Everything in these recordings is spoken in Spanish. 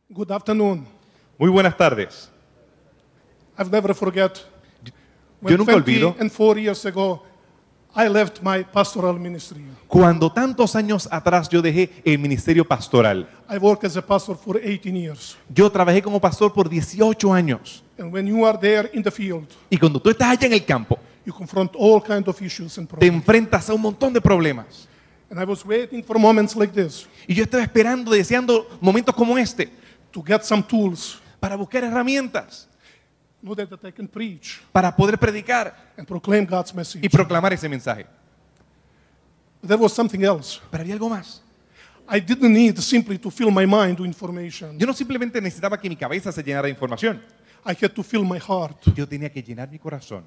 Good afternoon. Muy buenas tardes. I've never forget Yo when nunca olvido 24 years ago I left my pastoral ministry. cuando tantos años atrás yo dejé el ministerio pastoral. I worked as a pastor for 18 years. Yo trabajé como pastor por 18 años. And when you are there in the field, Y cuando tú estás allá en el campo, you confront all kinds of issues and te problems. enfrentas a un montón de problemas. And I was waiting for moments like this Y yo estaba esperando, deseando momentos como este, to get some tools para buscar herramientas, so that I can preach para poder predicar and proclaim God's message. y proclamar ese mensaje. But there was something else. Pero había algo más. I didn't need simply to fill my mind with information. Yo no simplemente necesitaba que mi cabeza se llenara de información. I had to fill my heart. Yo tenía que llenar mi corazón.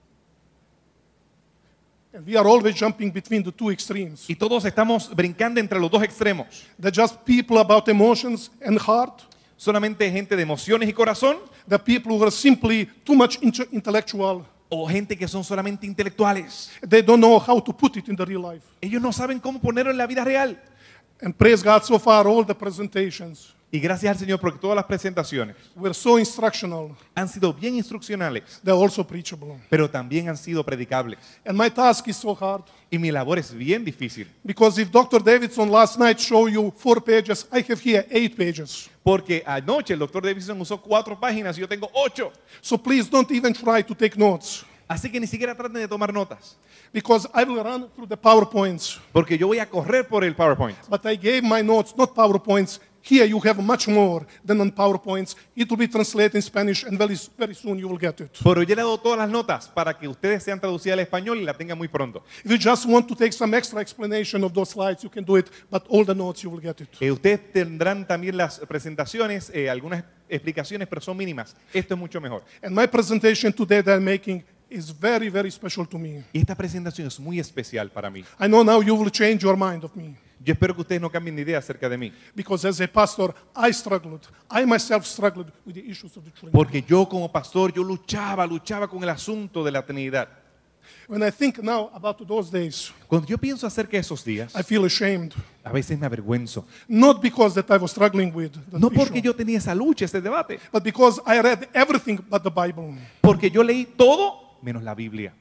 And we are always jumping between the two extremes. Y todos estamos brincando entre los dos extremos. They're just people about emotions and heart. Solamente gente de emociones y corazón, The people who are simply too much intellectual. o gente que son solamente intelectuales. They don't know how to put it in the real life. Ellos no saben cómo ponerlo en la vida real. And praise God, so far all the presentations Y gracias al Señor porque todas las presentaciones were so instructional. han sido bien instruccionales, They're also preachable. pero también han sido predicables. And my task is so hard Y mi labor es bien difícil, because if Dr. Davidson last night showed you 4 pages, I have here 8 pages. porque anoche el doctor Davidson usó 4 páginas y yo tengo 8. So please don't even try to take notes Así que ni siquiera traten de tomar notas, because I will run through the PowerPoints. porque yo voy a correr por el PowerPoint. But I gave my notes, not PowerPoints. Here you have much more than on PowerPoints. It will be translated in Spanish and very soon you will get it. Pero yo le he dado todas las notas para que ustedes sean traducidas al español y la tengan muy pronto. If you just want to take some extra explanation of those slides, you can do it, but all the notes you will get it. Ustedes tendrán también las presentaciones, algunas explicaciones, pero son mínimas. Esto es mucho mejor. And my presentation today that I'm making is very, very special to me. Y esta presentación es muy especial para mí. I know now you will change your mind of me. Yo espero que ustedes no cambien de idea acerca de mí. Because as a pastor, I myself struggled with the issues of the Trinity. Porque yo como pastor, yo luchaba con el asunto de la Trinidad. When I think now about those days, Cuando yo pienso acerca de esos días, I feel ashamed. a veces me avergüenzo. Not because that I was struggling with the No porque issue, yo tenía esa lucha, ese debate. but because I read everything but the Bible. Porque yo leí todo menos la Biblia.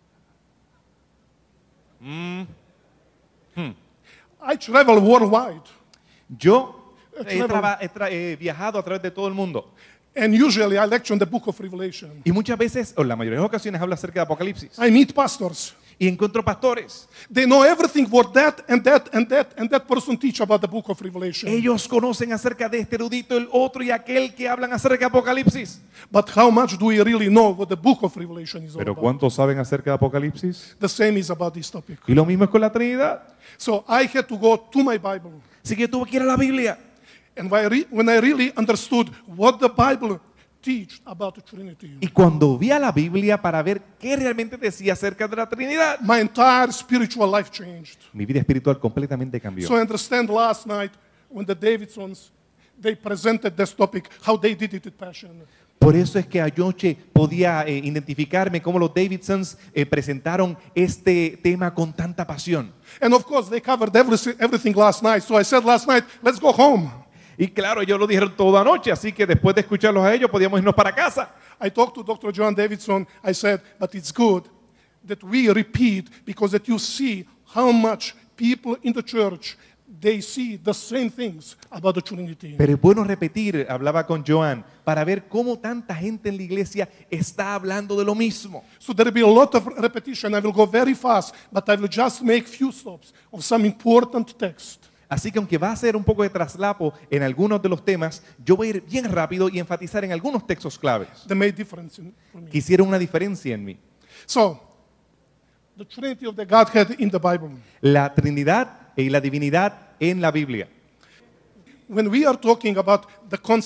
I travel worldwide, Yo he viajado a través de todo el mundo. and usually I lecture on the book of Revelation. Y muchas veces, o la mayoría de las ocasiones, hablo acerca de Apocalipsis. I meet pastors. Y encuentro pastores. They know everything what that and that and that and that person teach about the book of Revelation. Ellos conocen acerca de este erudito, el otro y aquel que hablan acerca de Apocalipsis. But how much do we really know what the book of Revelation is all Pero about? ¿cuántos saben acerca de Apocalipsis? The same is about this topic. Y lo mismo es con la Trinidad. So I had to go to my Bible. Así que yo tuve que ir a la Biblia. And when I really understood what the Bible teach about the Trinity, Y cuando vi a la Biblia para ver qué realmente decía acerca de la Trinidad, my entire spiritual life changed. mi vida espiritual completamente cambió. So I understand last night when the Davidsons, they presented this topic, how they did it with passion. Por eso es que anoche podía identificarme cómo los Davidsons presentaron este tema con tanta pasión. And of course, they covered everything last night. So I said last night, let's go home. Y claro, ellos lo dijeron toda noche, así que después de escucharlos a ellos podíamos irnos para casa. I talked to Dr. John Davidson. I said, but it's good that we repeat because that you see how much people in the church, they see the same things about the Trinity. Pero es bueno repetir, hablaba con Joan, para ver cómo tanta gente en la iglesia está hablando de lo mismo. So there will be a lot of repetition. I will go very fast, but I will just make few stops of some important text. Así que aunque va a ser un poco de traslapo en algunos de los temas, yo voy a ir bien rápido y enfatizar en algunos textos claves That made difference for me. que hicieron una diferencia en mí. So, the Trinity of the Godhead in the Bible. La Trinidad y la divinidad en la Biblia. When we are talking about the concept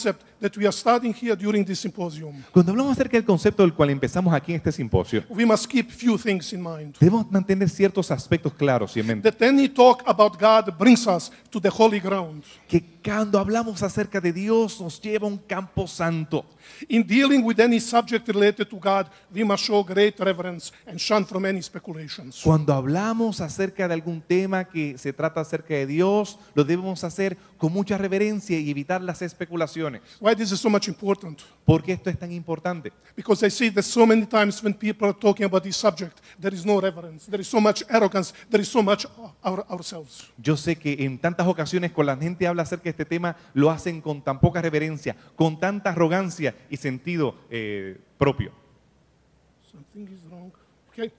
that we are studying here during this symposium, Cuando hablamos acerca del concepto del cual empezamos aquí en este simposio, we must keep few things in mind. debemos mantener ciertos aspectos claros y en mente. That any talk about God brings us to the holy ground. Que cuando hablamos acerca de Dios nos lleva a un campo santo. In dealing with any subject related to God, we must show great reverence and shun from any speculations. Cuando hablamos acerca de algún tema que se trata acerca de Dios, lo debemos hacer con mucha reverencia y evitar las especulaciones. Why this is so much important? ¿Por qué esto es tan importante? Because I see that so many times when people are talking about this subject, there is no reverence, there is so much arrogance, there is so much ourselves. Yo sé que en tantas ocasiones cuando la gente habla acerca de este tema, lo hacen con tan poca reverencia, con tanta arrogancia y sentido propio. Something is wrong. Okay.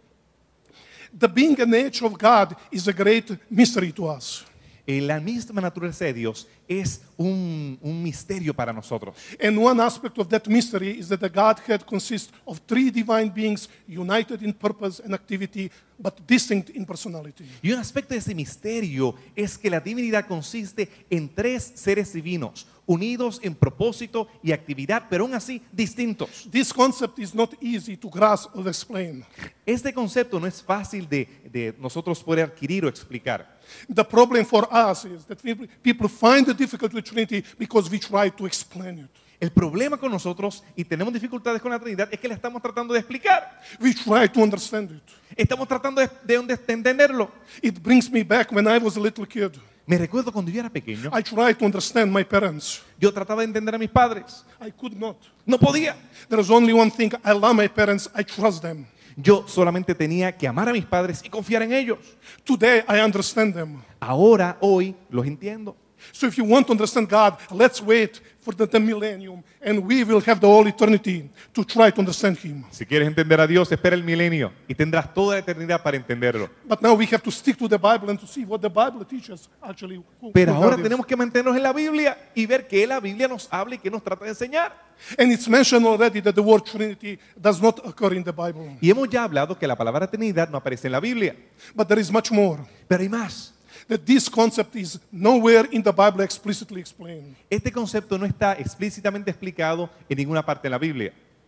The being and nature of God is a great mystery to us. La misma naturaleza de Dios es un misterio para nosotros. And one aspect of that mystery is that the Godhead consists of three divine beings united in purpose and activity, but distinct in personality. Y un aspecto de ese misterio es que la divinidad consiste en tres seres divinos, unidos en propósito y actividad, pero aún así distintos. This concept is not easy to grasp or explain. Este concepto no es fácil de nosotros poder adquirir o explicar. The problem for us is that people find it difficult with Trinity because we try to explain it. El problema con nosotros, y tenemos dificultades con la Trinidad, es que la estamos tratando de explicar. We try to understand it. Estamos tratando de entenderlo. It brings me back when I was a little kid. Me recuerdo cuando yo era pequeño, I tried to understand my parents. yo trataba de entender a mis padres. I could not. No podía. There is only one thing. I love my parents. I trust them. Yo solamente tenía que amar a mis padres y confiar en ellos. Today, I understand them. Ahora, hoy, los entiendo. So if you want to understand God, let's wait for the millennium, and we will have the whole eternity to try to understand Him. Si quieres entender a Dios, espera el milenio y tendrás toda la eternidad para entenderlo. But now we have to stick to the Bible and to see what the Bible teaches actually. Pero who ahora God is. tenemos que mantenernos en la Biblia y ver qué la Biblia nos habla y qué nos trata de enseñar. And it's mentioned already that the word Trinity does not occur in the Bible. Y hemos ya hablado que la palabra Trinidad no aparece en la Biblia. But there is much more. Pero hay más. That this concept is nowhere in the Bible explicitly explained. Este concepto no está explícitamente explicado en ninguna parte de la Biblia.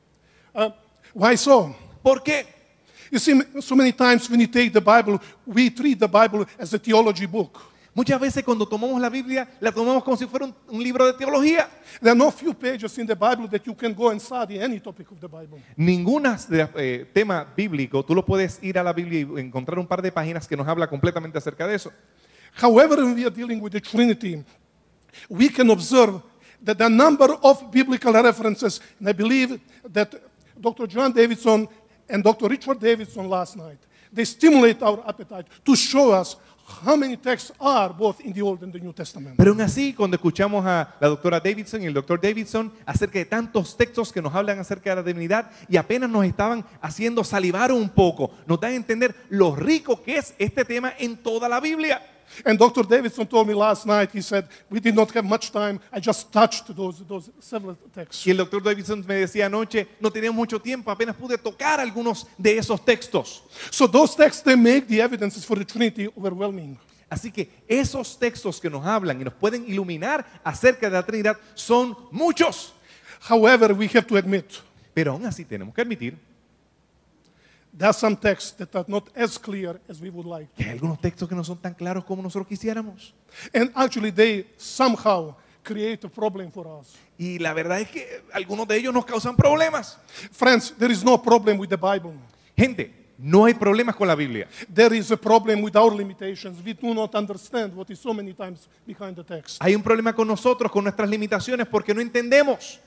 Why so? ¿Por qué? You see, so many times when you take the Bible, we treat the Bible as a theology book. Muchas veces cuando tomamos la Biblia, la tomamos como si fuera un libro de teología. There are no few pages in the Bible that you can go and study any topic of the Bible. Ningún tema bíblico, tú lo puedes ir a la Biblia y encontrar un par de páginas que nos habla completamente acerca de eso. However, when we are dealing with the Trinity, we can observe that the number of biblical references, and I believe that Dr. John Davidson and Dr. Richard Davidson last night, they stimulate our appetite to show us how many texts are both in the Old and the New Testament. Pero aún así, cuando escuchamos a la doctora Davidson y el doctor Davidson acerca de tantos textos que nos hablan acerca de la divinidad y apenas nos estaban haciendo salivar un poco, nos dan a entender lo rico que es este tema en toda la Biblia. And Dr. Davidson told me last night, he said, we did not have much time, I just touched those several texts. Y el doctor Davidson me decía anoche, no teníamos mucho tiempo, apenas pude tocar algunos de esos textos. So those texts, they make the evidences for the Trinity overwhelming. Así que esos textos que nos hablan y nos pueden iluminar acerca de la Trinidad son muchos. However, we have to admit, Pero aún así tenemos que admitir there are some texts that are not as clear as we would like. que hay algunos textos que no son tan claros como nosotros quisiéramos. And actually, they somehow create a problem for us. Y la verdad es que algunos de ellos nos causan problemas. Friends, there is no problem with the Bible. Gente, no hay problemas con la Biblia. There is a problem with our limitations. We do not understand what is so many times behind the text. Hay un problema con nosotros, con nuestras limitaciones, porque no entendemos.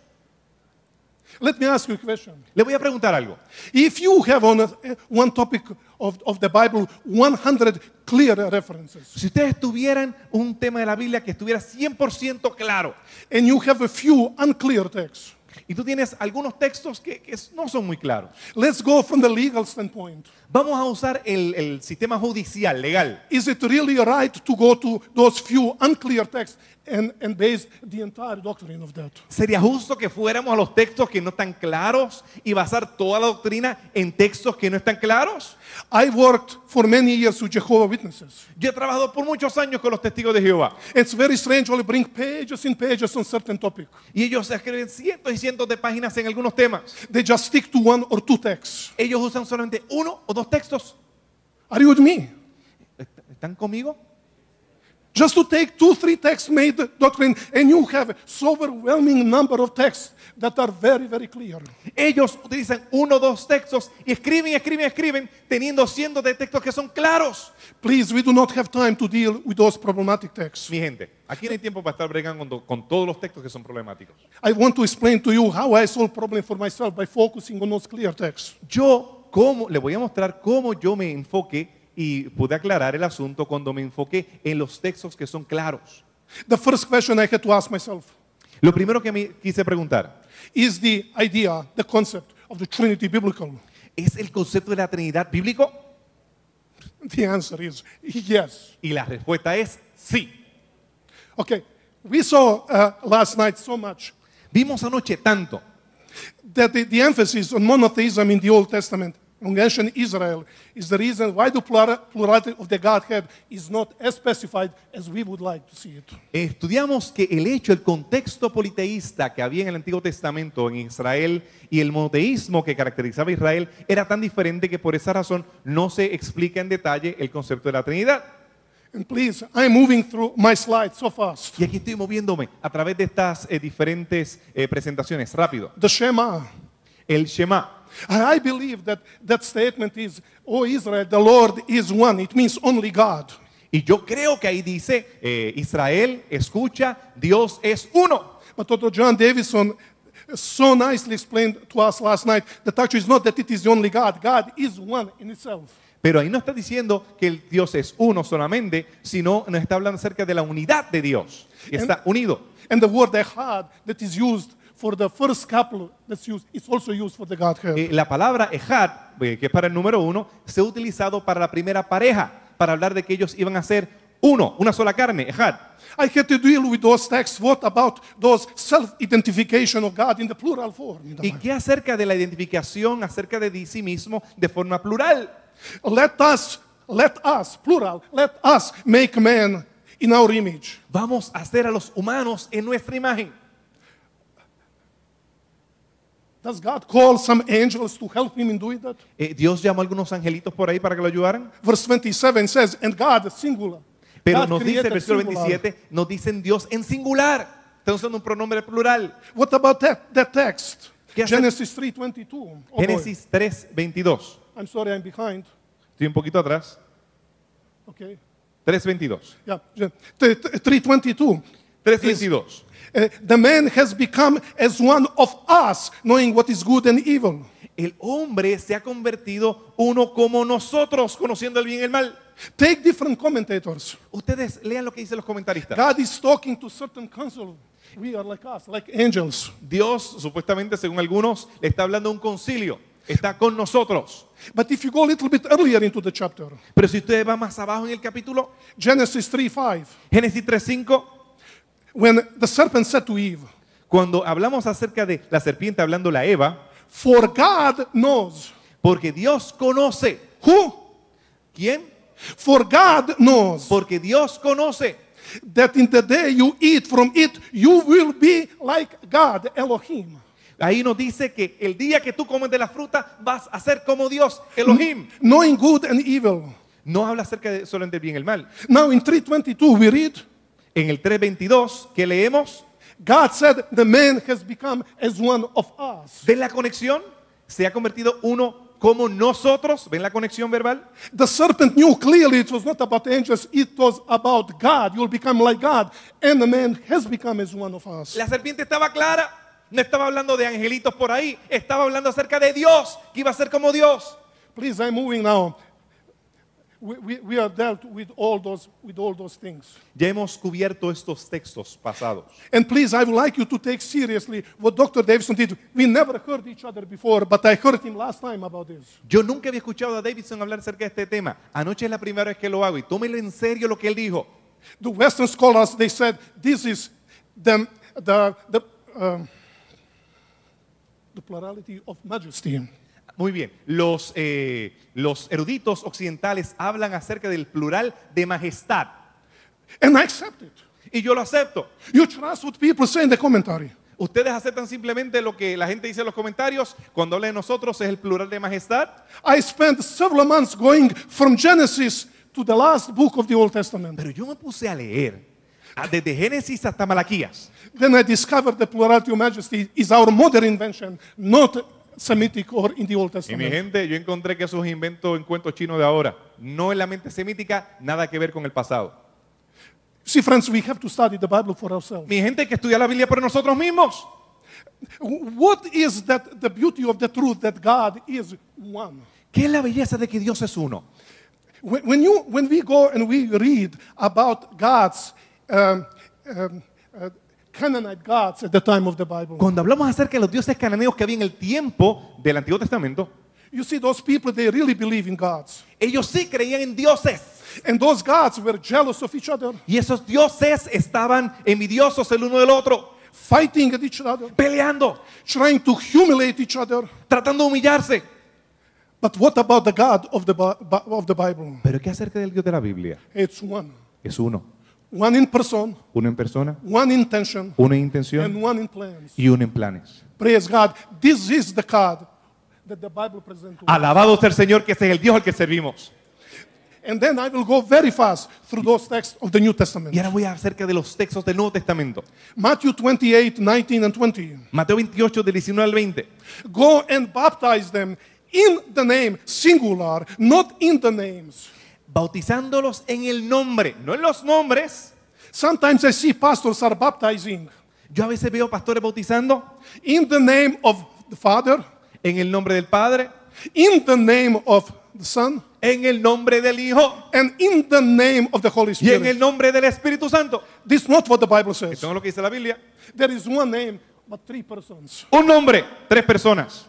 Let me ask you a question. Le voy a preguntar algo. If you have on one topic of the Bible 100 clear references, Si ustedes tuvieran un tema de la Biblia que estuviera 100% claro, and you have a few unclear texts, y tú tienes algunos textos que no son muy claros, let's go from the legal standpoint. vamos a usar el sistema judicial, legal. Is it really right to go to those few unclear texts and base the entire doctrine of that. ¿Sería justo que fuéramos a los textos que no están claros y basar toda la doctrina en textos que no están claros? I worked for many years with Jehovah's Witnesses. Yo he trabajado por muchos años con los testigos de Jehová It's very strange when you bring pages and pages on certain topic. y ellos escriben cientos y cientos de páginas en algunos temas. They just stick to one or two texts. Ellos usan solamente uno o dos textos. Are you with me? ¿Están conmigo? Just to take 2-3 texts made the doctrine, and you have so overwhelming number of texts that are very, very clear. Ellos utilizan uno o dos textos y escriben, teniendo cientos de textos que son claros. Please, we do not have time to deal with those problematic texts. Mi gente, aquí no hay tiempo para estar bregando con todos los textos que son problemáticos. I want to explain to you how I solve problem for myself by focusing on those clear texts. Le voy a mostrar cómo yo me enfoqué y pude aclarar el asunto cuando me enfoqué en los textos que son claros. The first question I had to ask myself, Lo primero que me quise preguntar, is the idea, the concept of the Trinity biblical? ¿es el concepto de la Trinidad bíblico? The answer is yes. Y la respuesta es sí. Okay, we saw last night so much Vimos anoche tanto that the emphasis on monotheism in the Old Testament, in ancient Israel, is the reason why the plurality of the Godhead is not as specified as we would like to see it. Estudiamos que el contexto politeísta que había en el Antiguo Testamento en Israel y el monoteísmo que caracterizaba a Israel era tan diferente que por esa razón no se explica en detalle el concepto de la Trinidad. And please, I'm moving through my slides so fast. Y aquí estoy moviéndome a través de estas diferentes presentaciones, rápido. The Shema. El Shema. I believe that that statement is, "O Israel, the Lord is one." It means only God. Y yo creo que ahí dice, Israel, escucha, Dios es uno. But Dr. John Davidson so nicely explained to us last night that actually it's not that it is the only God. God is one in itself. Pero ahí no está diciendo que el Dios es uno solamente, sino nos está hablando acerca de la unidad de Dios. Y está unido. And the word echad that is used for the first couple that's used, it's also used for the Godhead. La palabra ejad, que es para el número uno, se ha utilizado para la primera pareja, para hablar de que ellos iban a ser uno, una sola carne, ejad. I had to deal with those texts. What about those self-identification of God in the plural form? In the ¿Y Bible? qué acerca de la identificación acerca de sí mismo de forma plural? Let us, plural, let us make man in our image. Vamos a hacer a los humanos en nuestra imagen. Does God call some angels to help him in doing that? Dios llamó a algunos angelitos por ahí para que lo ayudaran. Verse 27 says, and God, singular. Pero God nos dice, el created versículo singular. 27, nos dicen Dios en singular. Está usando un pronombre plural. What about that text? ¿Qué hace? Genesis 3:22. Oh, boy. Génesis 3:22. I'm sorry, I'm behind. Estoy un poquito atrás. Okay. 3:22. Yeah, 3:22. 3:22. The man has become as one of us, knowing what is good and evil. El hombre se ha convertido uno como nosotros, conociendo el bien y el mal. Take different commentators. Ustedes lean lo que dicen los comentaristas. God is talking to certain council. We are like us, like angels. Dios, supuestamente, según algunos, le está hablando a un concilio. Está con nosotros. But if you go a little bit earlier into the chapter, Pero si usted va más abajo en el capítulo, Genesis 3:5, Génesis 3:5, when the serpent said to Eve, cuando hablamos acerca de la serpiente hablando a Eva, "For God knows." porque Dios conoce. Who? ¿Quién? For God knows Porque Dios conoce that in the day you eat from it, you will be like God, Elohim. Ahí nos dice que el día que tú comes de la fruta vas a ser como Dios, Elohim. Knowing good and evil. No habla acerca de solo del bien y el mal. Now in 3:22 we read, En el 3:22 que leemos, God said the man has become as one of us. ¿ven la conexión? Se ha convertido uno como nosotros. ¿Ven la conexión verbal? The serpent knew clearly it was not about angels, it was about God. You'll become like God. And the man has become as one of us. La serpiente estaba clara. No estaba hablando de angelitos por ahí. Estaba hablando acerca de Dios, que iba a ser como Dios. Please, I'm moving now. We are dealt with all those things. Ya hemos cubierto estos textos pasados. And please, I would like you to take seriously what Dr. Davidson did. We never heard each other before, but I heard him last time about this. Yo nunca había escuchado a Davidson hablar acerca de este tema. Anoche es la primera vez que lo hago y tómelo en serio lo que él dijo. The Western scholars, they said this is the plurality of majesty. Muy bien. Los eruditos occidentales hablan acerca del plural de majestad. And I accept it. Y yo lo acepto. You trust what people say in the commentary. Ustedes aceptan simplemente lo que la gente dice en los comentarios. Cuando habla de nosotros es el plural de majestad. I spent several months going from Genesis to the last book of the Old Testament. Pero yo me puse a leer desde Génesis hasta Malaquías. Then I discovered the plurality of majesty is our modern invention, not Semitic or in the Old Y mi Testament. gente, yo encontré que esos inventos en cuentos chinos de ahora, no en la mente semítica, nada que ver con el pasado. See, friends, we have to study the Bible for ourselves. Mi gente, hay que estudiar la Biblia por nosotros mismos. What is that the beauty of the truth that God is one? ¿Qué es la belleza de que Dios es uno? When we go and we read about God's Canaanite gods at the time of the Bible, Cuando hablamos acerca de los dioses cananeos que había en el tiempo del Antiguo Testamento, you see those people, they really believe in gods. ellos sí creían en dioses. And those gods were jealous of each other, Y esos dioses estaban envidiosos el uno del otro, fighting at each other, peleando, trying to humiliate each other. tratando de humillarse. But what about the God of the Bible? Pero ¿qué acerca del Dios de la Biblia? It's one. Es uno. One in person, Uno en persona, one in intention, uno en and intención one in plans. y uno en planes. Praise God. This is the God that the Bible presents to us. Alabado sea el Señor, que ese es el Dios al que servimos. And then I will go very fast through those texts of the New Testament. Y ahora voy acerca de los textos del Nuevo Testamento. Matthew 28, 19 and 20. Mateo 28, del 19 al 20. Go and baptize them in the name, singular, not in the names. Bautizándolos en el nombre, no en los nombres. Sometimes I see pastors are baptizing Yo a veces veo pastores bautizando in the name of the Father, en el nombre del Padre, in the name of the Son, en el nombre del Hijo and in the name of the Holy y en el Spirit. nombre del Espíritu Santo. This is not what the Bible says. Esto no es lo que dice la Biblia. There is one name, but three persons. Un nombre, tres personas.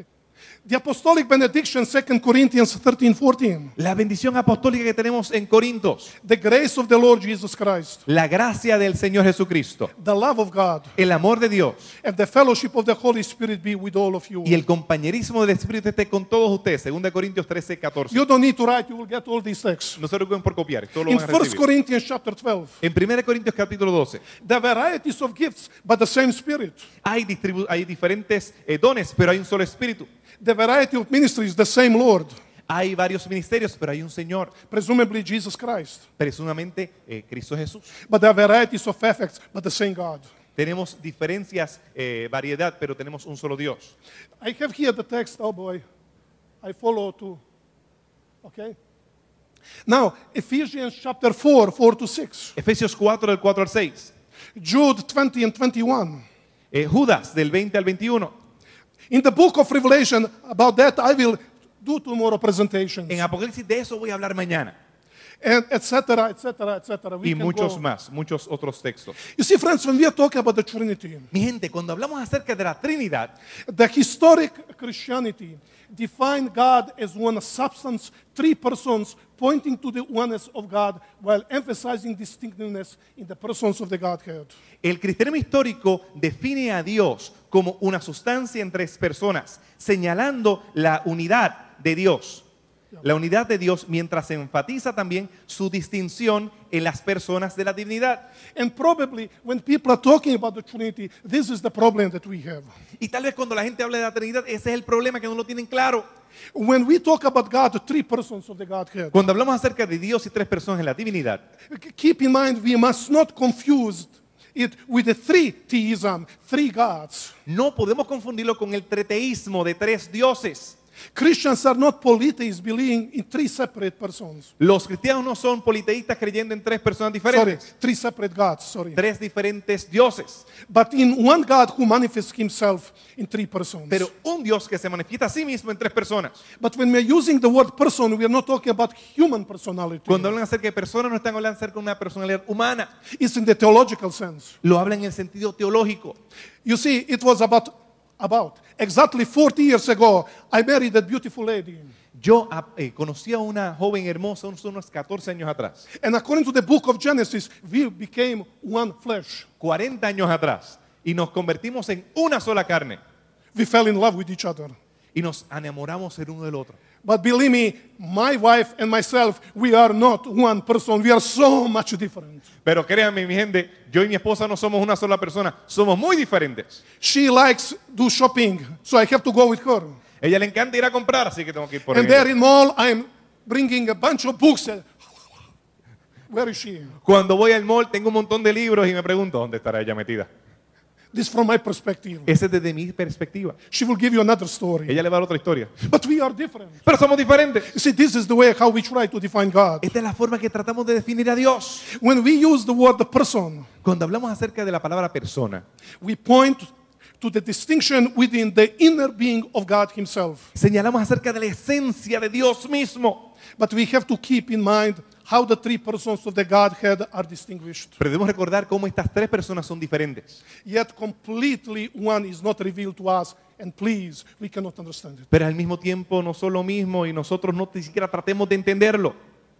The apostolic benediction, 2 Corinthians 13, 14. La bendición apostólica que tenemos en Corintios. The grace of the Lord Jesus Christ, La gracia del Señor Jesucristo. the love of God, El amor de Dios and the fellowship of the Holy Spirit be with all of you. y el compañerismo del Espíritu esté con todos ustedes. 2 Corintios 13, 14. You don't need to write, you will get all these texts. No se preocupen por copiar, esto lo In van a 1 recibir. Corinthians chapter 12, En 1 Corintios capítulo 12 the varieties of gifts, but the same Spirit. hay diferentes dones, pero hay un solo Espíritu. The variety of ministries, the same Lord. Hay varios ministerios, pero hay un Señor, Presumably Jesus Christ. presumamente Cristo Jesús. But there are varieties of effects, but the same God. Tenemos diferencias, variedad, pero tenemos un solo Dios. I have here the text, oh boy. I follow too. Okay? Now, Ephesians chapter 4, 4 to 6. Efesios 4, del 4 al 6. Jude 20 and 21. Judas, del 20 al 21. In the book of Revelation, about that I will do tomorrow presentations. En Apocalipsis de eso voy a hablar mañana. And etc., etc., etc. We Y can muchos go. más, muchos otros textos. You see, friends, when we are talking about the Trinity, Mi gente, cuando hablamos acerca de la Trinidad, the historic Christianity defined God as one substance, three persons, pointing to the oneness of God while emphasizing distinctiveness in the persons of the Godhead. el cristianismo histórico define a Dios como una sustancia en tres personas, señalando la unidad de Dios. La unidad de Dios, mientras se enfatiza también su distinción en las personas de la divinidad. And probably when people are talking about the Trinity, this is the problem that we have. Y tal vez cuando la gente habla de la Trinidad, ese es el problema que no lo tienen claro. When we talk about God, the three persons of the Godhead, Cuando hablamos acerca de Dios y tres personas en la divinidad, keep in mind we must not confuse it with the three theism, three gods. no podemos confundirlo con el treteísmo de tres dioses. Christians are not polytheists believing in three separate persons. Los cristianos no son politeístas creyendo en tres personas Sorry, diferentes, three separate gods, sorry. tres diferentes dioses, But in one God who manifests himself in three persons. pero un Dios que se manifiesta a sí mismo en tres personas. But when we're using the word person, we are not talking about human personality. Cuando hablan acerca de personas, no están hablando acerca de una personalidad humana, It's in the theological sense. lo hablan en el sentido teológico. You see, it was about about exactly 40 years ago, I married that beautiful lady. Yo conocí a una joven hermosa unos 14 años atrás. And according to the book of Genesis, we became one flesh. 40 años atrás. Y nos convertimos en una sola carne. We fell in love with each other. Y nos enamoramos el uno del otro. But believe me, my wife and myself, we are not one person. We are so much different. Pero créanme, mi gente, yo y mi esposa no somos una sola persona. Somos muy diferentes. She likes do shopping, so I have to go with her. Ella le encanta ir a comprar, así que tengo que ir por And ella. there in mall, I'm bringing a bunch of books. Where is she? Cuando voy al mall tengo un montón de libros y me pregunto, ¿dónde estará ella metida? This from my perspective. Ese es desde mi perspectiva. She will give you another story. Ella le va a dar otra historia. But we are different. Pero somos diferentes. You see, this is the way how we try to define God. Esta es la forma que tratamos de definir a Dios. When we use the word the person, Cuando hablamos acerca de la palabra persona, we point to the distinction within the inner being of God himself. señalamos acerca de la esencia de Dios mismo. But we have to keep in mind how the three persons of the Godhead are distinguished. Pero debemos recordar cómo estas tres personas son diferentes. Yet completely one is not revealed to us, and please, we cannot understand it. Pero al mismo tiempo no son lo mismo y nosotros no ni siquiera tratemos de entenderlo.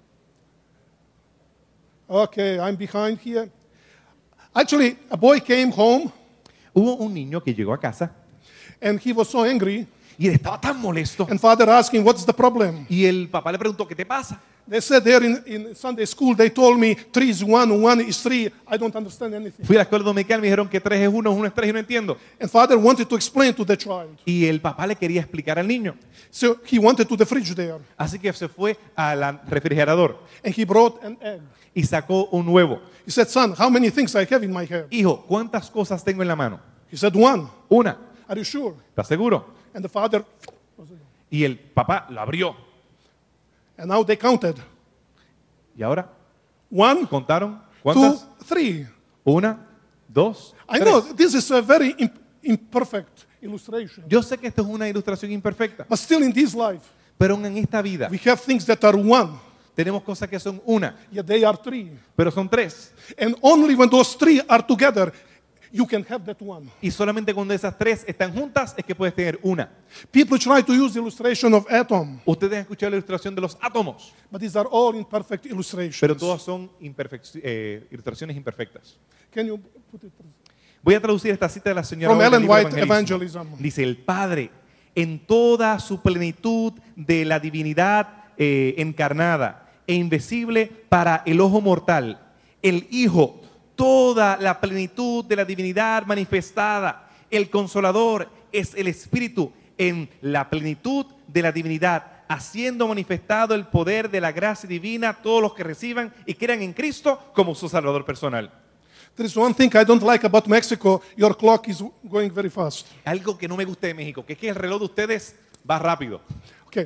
Okay, I'm behind here. Actually, a boy came home Hubo un niño que llegó a casa and he was so angry, y él estaba tan molesto. and father asked him, what's the problem? Y el papá le preguntó, ¿qué te pasa? They said there in Sunday school, they told me 3 is 1, 1 is 3. I don't understand anything. Fui a la escuela dominical, me dijeron que 3 es 1, 1 es 3 y no entiendo. And father wanted to explain to the child. Y el papá le quería explicar al niño. So he wanted to the fridge there, Así que se fue al refrigerador and he brought an egg. y sacó un huevo. He said, son, how many things I have in my head? Hijo, ¿cuántas cosas tengo en la mano? He said, 1. Una. Are you sure? ¿Estás seguro? And the father, Y el papá lo abrió. and now they counted. ¿Y ahora? 1, ¿Contaron? 2, ¿Cuántas? 3. Una, dos, I tres. know this is a very imperfect illustration. Yo sé que esto es una ilustración imperfecta, But still in this life, pero en esta vida we have things that are 1, tenemos cosas que son una, yet they are 3. pero son tres. And only when those 3 are together, you can have that 1. Y solamente cuando esas tres están juntas es que puedes tener una. People try to use the illustration of atom, Ustedes han escuchado la ilustración de los átomos, but these are all imperfect illustrations. pero todas son ilustraciones imperfectas. Can you put it? Voy a traducir esta cita de la señora From White del Ellen libro White, Evangelism. Evangelism. Dice, el Padre, en toda su plenitud de la divinidad encarnada e invisible para el ojo mortal. El Hijo, toda la plenitud de la divinidad manifestada. El Consolador es el Espíritu en la plenitud de la divinidad, haciendo manifestado el poder de la gracia divina a todos los que reciban y crean en Cristo como su Salvador personal. There is one thing I don't like about Mexico. Your clock is going very fast. Algo que no me gusta de México, que es que el reloj de ustedes va rápido. Okay.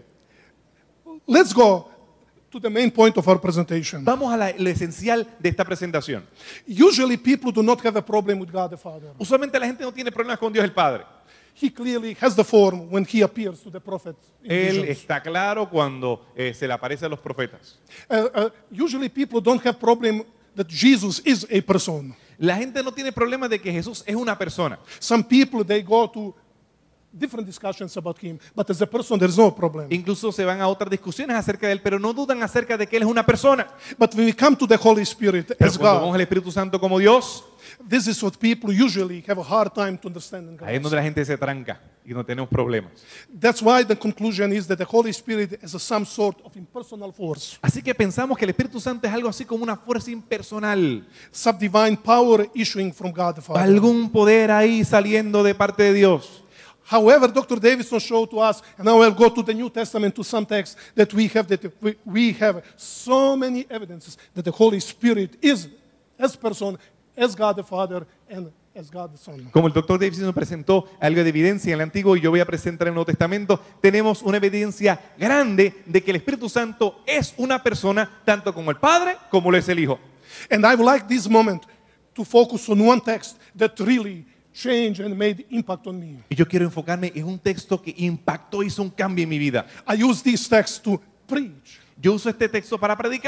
Let's go to the main point of our presentation. Vamos a lo esencial de esta presentación. Usually people do not have a problem with God the Father. Usualmente la gente no tiene problemas con Dios el Padre. He clearly has the form when he appears to the prophet in Él visions. está claro cuando se le aparece a los profetas. Usually people don't have problem that Jesus is a person. La gente no tiene problema de que Jesús es una persona. Some people, they go to different discussions about him, but as a person there's no problem. Incluso se van a otras discusiones acerca de él, pero no dudan acerca de que él es una persona. But when we come to the Holy Spirit Pero as cuando vemos God, al Espíritu Santo como Dios, this is what people usually have a hard time to understand and ahí es grasp. donde la gente se tranca y no tenemos problemas. That's why the conclusion is that the Holy Spirit is some sort of impersonal force, Así que pensamos que el Espíritu Santo es algo así como una fuerza impersonal, some divine power issuing from God the Father. algún poder ahí saliendo de parte de Dios. However, Dr. Davidson showed to us, and now I'll go to the New Testament to some texts that we have so many evidences that the Holy Spirit is as person, as God the Father, and as God the Son. Como el doctor Davis nos presentó algo de evidencia en el Antiguo y yo voy a presentar en el Nuevo Testamento, tenemos una evidencia grande de que el Espíritu Santo es una persona tanto como el Padre como lo es el Hijo. And I would like this moment to focus on one text that really changed and made impact on me. Y yo quiero enfocarme en un texto que impactó, hizo un cambio en mi vida. I use this text to preach. Yo uso este texto para predicar.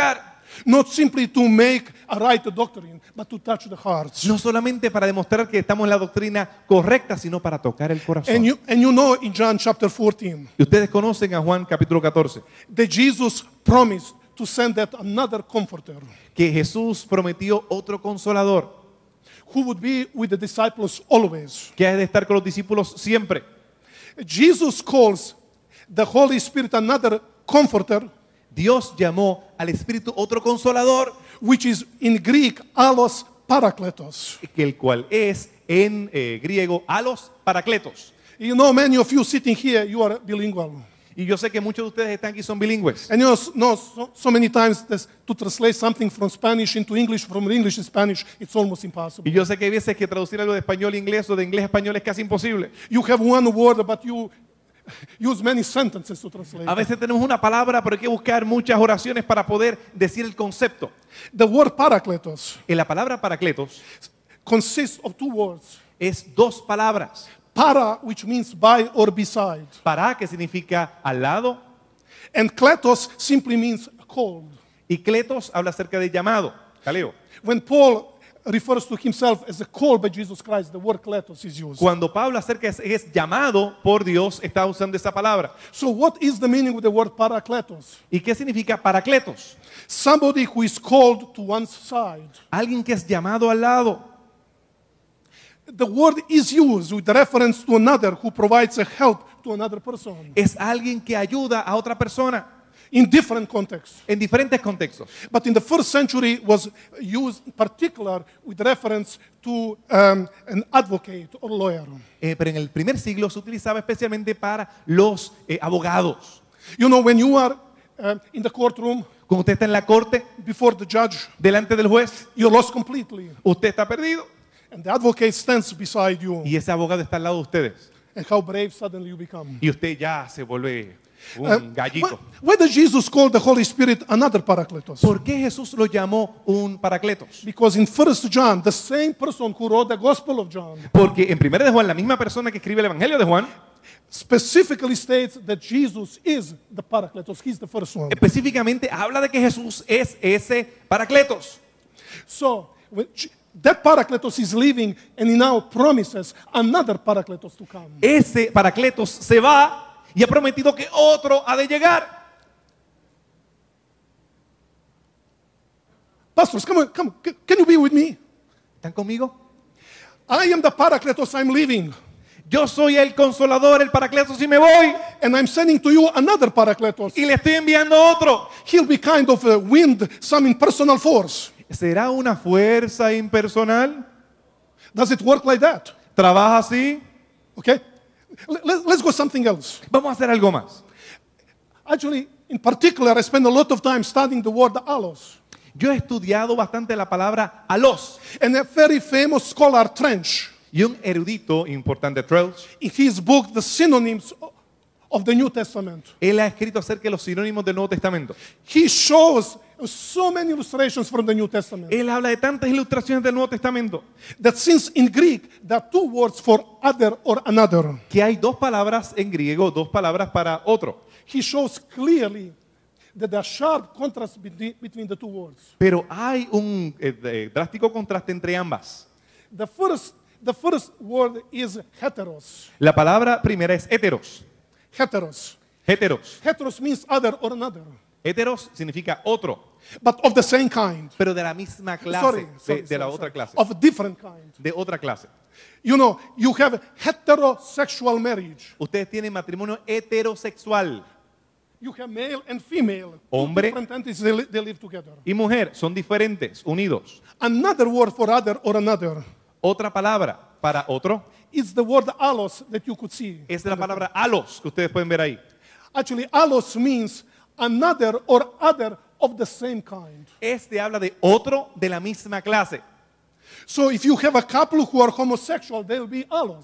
Not simply to make a right doctrine, but to touch the hearts. No solamente para demostrar que estamos en la doctrina correcta, sino para tocar el corazón. And you know in John chapter 14 Y ustedes conocen a Juan capítulo 14, that Jesus promised to send that another comforter que Jesús prometió otro consolador, who would be with the disciples always. que ha de estar con los discípulos siempre. Jesus calls the Holy Spirit another comforter, Dios llamó al Espíritu otro consolador, which is in Greek allos parakletos. que el cual es en griego alos parakletos. You know, many of you sitting here, you are bilingual. Y yo sé que muchos de ustedes están aquí son bilingües. And you know so many times to translate something from Spanish into English, from English to Spanish, it's almost impossible. Y yo sé que hay veces que traducir algo de español a inglés o de inglés a español es casi imposible. You have one word, but you use many sentences to translate. A veces tenemos una palabra, pero hay que buscar muchas oraciones para poder decir el concepto. The word parakletos En la palabra paracletos consists of two words. es dos palabras. Para, which means by or beside. Para, que significa al lado, And kletos simply means called. y kletos habla acerca de llamado, kaleo. When Paul refers to himself as a called by Jesus Christ, the word kletos is used. Cuando Pablo acerca es llamado por Dios, está usando esa palabra. So what is the meaning of the word parakletos? ¿Y qué significa paracletos? Somebody who is called to one's side. Alguien que es llamado al lado. The word is used with reference to another who provides a help to another person Es alguien que ayuda a otra persona in different contexts. en diferentes contextos. But in the first century was used in particular with reference to an advocate or lawyer. Pero en el primer siglo se utilizaba especialmente para los abogados. You know, when you are in the courtroom Cuando usted está en la corte, before the judge, delante del juez, you're lost completely. usted está perdido. And the advocate stands beside you. Y ese abogado está al lado de ustedes. And how brave suddenly you become. Y usted ya se vuelve un gallito. Why did Jesus call the Holy Spirit another Paracletos? ¿Por qué Jesús lo llamó un paracletos? Because in 1 John, the same person who wrote the Gospel of John Porque en 1 de Juan, la misma persona que escribe el Evangelio de Juan, specifically states that Jesus is the Paracletos. He's the first one. específicamente habla de que Jesús es ese paracletos. So, that Paracletos is leaving and he now promises another Paracletos to come. Ese paracletos se va y ha prometido que otro ha de llegar. Pastors, come on. Can you be with me? ¿Están conmigo? I am the Paracletos, I'm leaving. Yo soy el consolador, el paracletos y me voy. And I'm sending to you another Paracletos. Y le estoy enviando otro. He'll be kind of a wind, some impersonal force. ¿Será una fuerza impersonal? Does it work like that? ¿Trabaja así? Okay? Let's go something else. Vamos a hacer algo más. Actually, in particular, I spend a lot of time studying the word allos. Yo he estudiado bastante la palabra alos. And a very famous scholar, Trench, Y un erudito importante, Trelch, in his book, The Synonyms of the New Testament, él ha escrito acerca de los sinónimos del Nuevo Testamento. he shows so many illustrations from the New Testament Él habla de tantas ilustraciones del Nuevo Testamento that since in Greek there are two words for other or another, que hay dos palabras en griego, dos palabras para otro. he shows clearly that there are sharp contrasts between the two words. Pero hay un drástico contraste entre ambas. The first word is heteros. La palabra primera es heteros. Heteros. Heteros. Heteros means other or another, Heteros significa otro, but of the same kind. pero de la misma clase, de la otra clase, Of a different kind. de otra clase. You know, you have heterosexual marriage. Ustedes tienen matrimonio heterosexual. You have male and female. Two Hombre. different entities, they live together. Y mujer son diferentes, unidos. Another word for other or another Otra palabra para otro is the word allos that you could see. es la palabra alos, que ustedes pueden ver ahí. Actually, allos means another or other of the same kind. Este habla de otro de la misma clase. So if you have a couple who are homosexual, they'll be allos.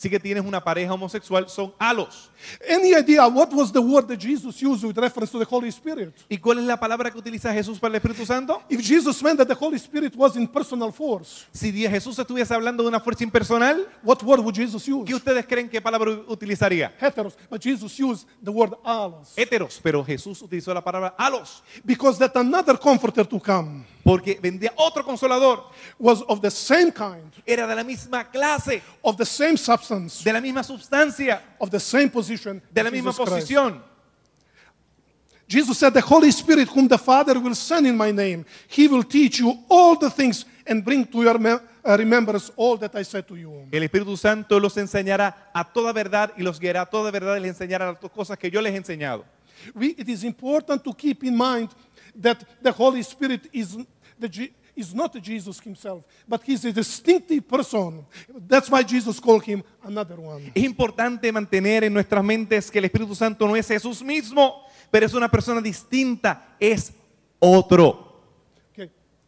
Si que tienes una pareja homosexual, son halos. Any idea what was the word that Jesus used with reference to the Holy Spirit? ¿Y cuál es la palabra que utiliza Jesús para el Espíritu Santo? If Jesus meant that the Holy Spirit was in personal force, Si Jesús estuviese hablando de una fuerza impersonal, what word would Jesus use? ¿qué ustedes creen que palabra utilizaría? Heteros. But Jesus used the word allos. Héteros, pero Jesús utilizó la palabra halos, Because that another comforter to come porque vendría otro consolador. was of the same kind, Era de la misma clase, of the same substance, de la misma sustancia, of the same position. de la as misma Jesus Christ. posición. Jesus said, the Holy Spirit whom the Father will send in my name, he will teach you all the things and bring to your remembrance all that I said to you. El Espíritu Santo los enseñará a toda verdad y los guiará a toda verdad y les enseñará las cosas que yo les he enseñado. It is important to keep in mind that the Holy Spirit is not Jesus himself, but he's a distinctive person. That's why Jesus called him another one. Es importante mantener en nuestras mentes que el Espíritu Santo no es Jesús mismo, pero es una persona distinta, es otro. Okay.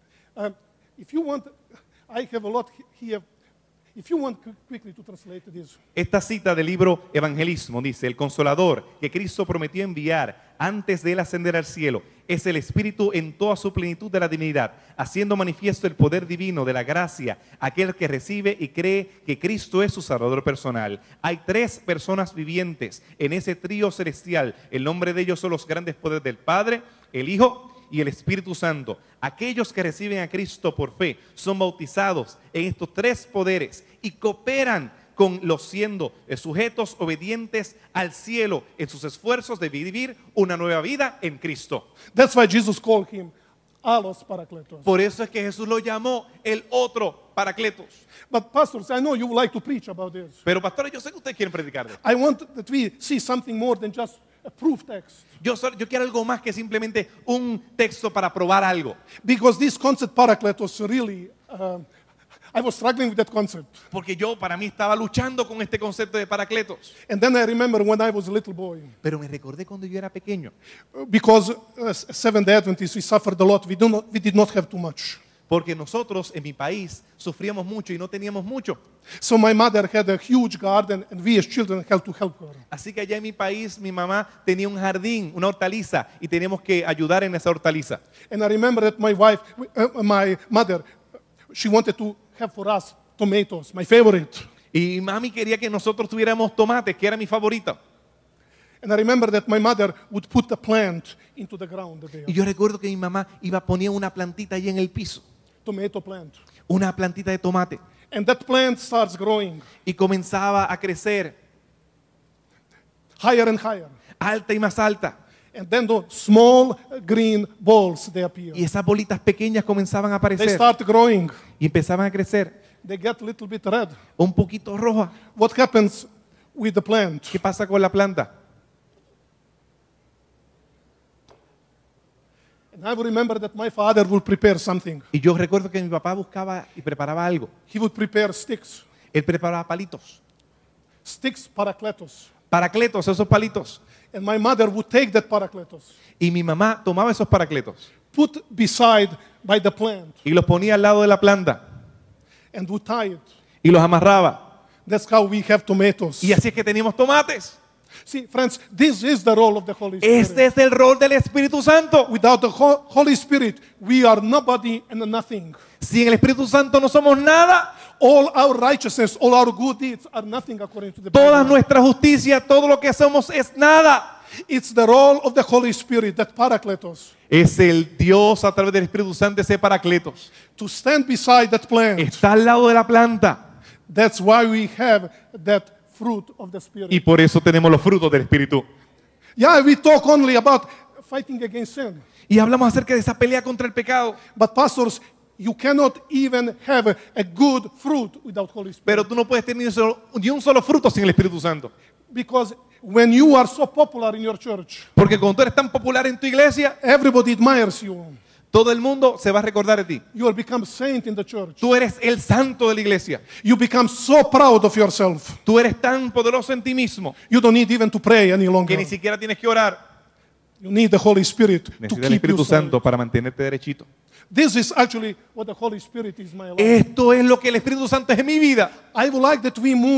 If you want, I have a lot here. If you want quickly to translate this. Esta cita del libro Evangelismo dice: el Consolador que Cristo prometió enviar antes de él ascender al cielo es el Espíritu en toda su plenitud de la divinidad, haciendo manifiesto el poder divino de la gracia, aquel que recibe y cree que Cristo es su Salvador personal. Hay tres personas vivientes en ese trío celestial. El nombre de ellos son los grandes poderes del Padre, el Hijo y el Espíritu Santo. Aquellos que reciben a Cristo por fe son bautizados en estos tres poderes y cooperan con los siendo sujetos obedientes al cielo en sus esfuerzos de vivir una nueva vida en Cristo. That's why Jesus called him allos parakletos. Por eso es que Jesús lo llamó el otro Paracletos. But pastors, I know you would like to preach about this. Pero pastores, yo sé que ustedes quieren predicar de esto. I want that we see something more than just a proof text. Yo quiero algo más que simplemente un texto para probar algo. Because this concept parakletos really, I was struggling with that concept. Porque para mí estaba luchando con este concepto de Paracletos. And then I remember when I was a little boy. Pero me recordé cuando yo era pequeño. Because Seventh-day Adventists, we suffered a lot. We did not have too much. Porque nosotros en mi país sufríamos mucho y no teníamos mucho. So my mother had a huge garden and we as children had to help her. Así que allá en mi país mi mamá tenía un jardín, una hortaliza, y teníamos que ayudar en esa hortaliza. And I remember that my mother, she wanted to have for us tomatoes, my favorite. Y mami quería que nosotros tuviéramos tomates, que era mi favorita. And I remember that my mother would put a plant into the ground there. Y yo recuerdo que mi mamá ponía una plantita ahí en el piso, Tomato plant. una plantita de tomate, And that plant starts growing y comenzaba a crecer higher and higher. alta y más alta. And then the small green balls, they appear. Y esas bolitas pequeñas comenzaban a They aparecer start growing. y empezaban a crecer They get a little bit red. un poquito roja. What happens with the plant? ¿Qué pasa con la planta? And I would remember that my father would prepare something. Y yo recuerdo que mi papá buscaba y preparaba algo. He would prepare sticks. Él preparaba palitos. Sticks, parakletos. Paracletos, esos palitos. And my mother would take that parakletos, Y mi mamá tomaba esos paracletos put beside by the plant, y los ponía al lado de la planta and would tie it. y los amarraba. That's how we have tomatoes. Y así es que teníamos tomates. See, friends, this is the role of the Holy Spirit. Este es el rol del Espíritu Santo. Without the Holy Spirit, we are nobody and nothing. Si en el Espíritu Santo no somos nada, All our righteousness, all our good deeds are nothing according to the toda Bible. nuestra justicia, todo lo que somos es nada. It's the role of the Holy Spirit, that parakletos, Es el Dios a través del Espíritu Santo, ese Paracletos. to stand beside that plant. Está al lado de la planta. That's why we have that fruit of the Spirit. Y por eso tenemos los frutos del Espíritu. Yeah, we talk only about fighting against sin. Y hablamos acerca de esa pelea contra el pecado. But pastors, you cannot even have a good fruit without Holy Spirit. Pero tú no puedes tener ni un solo fruto sin el Espíritu Santo. Because when you are so popular in your church, Porque cuando tú eres tan popular en tu iglesia, everybody admires you. todo el mundo se va a recordar de ti. You will become saint in the church. Tú eres el santo de la iglesia. You become so proud of yourself. Tú eres tan poderoso en ti mismo You don't need even to pray any que longer. ni siquiera tienes que orar. You need the Holy Spirit to Necesitas el keep you Espíritu safe. Santo para mantenerte derechito. This is actually what the Holy Spirit is in my life. Esto es lo que el Espíritu Santo es en mi vida. I would like that we move